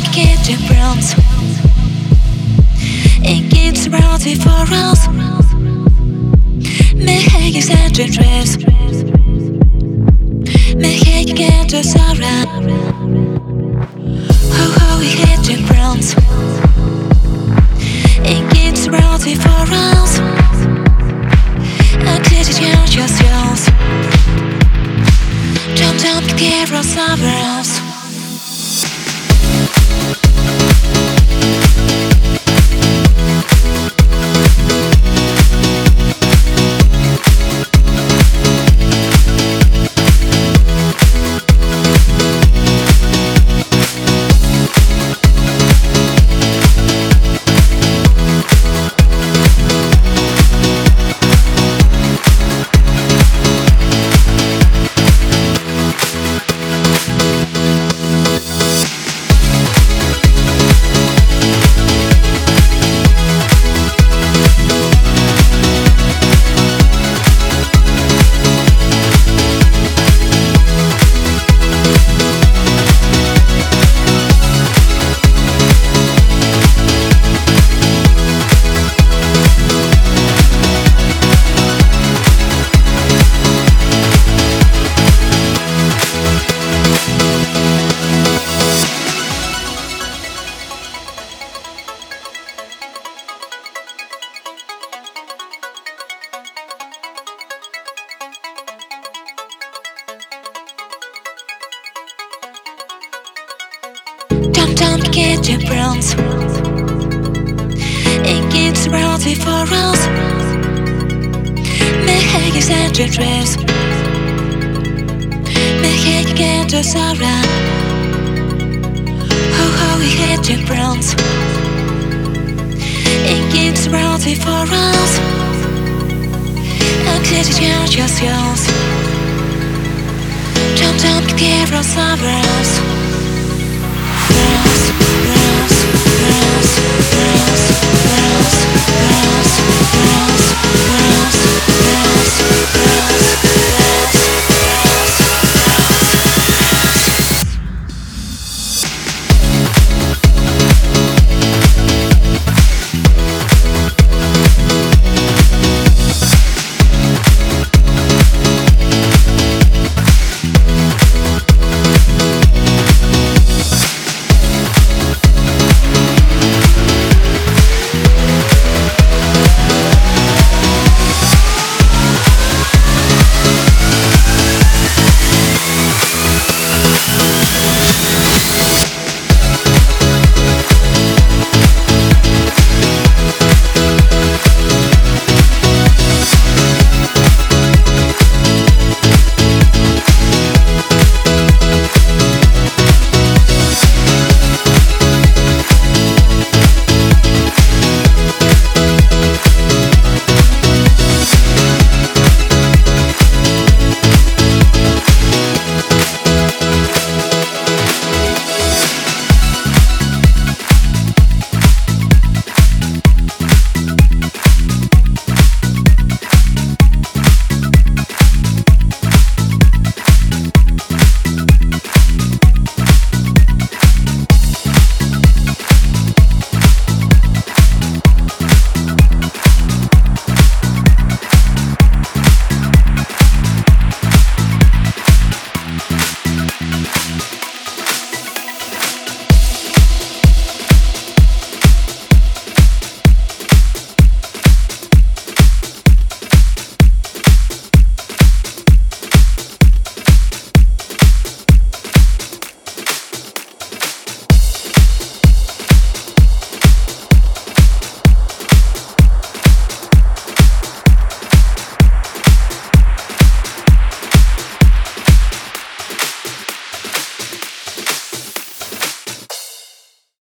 kitchen browns. It keeps rosy for us. Me hate you send your dress. Me hate you get us around. Ho we kitchen browns. It keeps rosy for us. I did it yours. Jump, get us somewhere else. Don't get your browns. It keeps rosy for us. Me hate you send your dress. Me hate you get us around. Ho we hate your browns. It keeps rosy for us. I did it yours. Jump, get us somewhere else.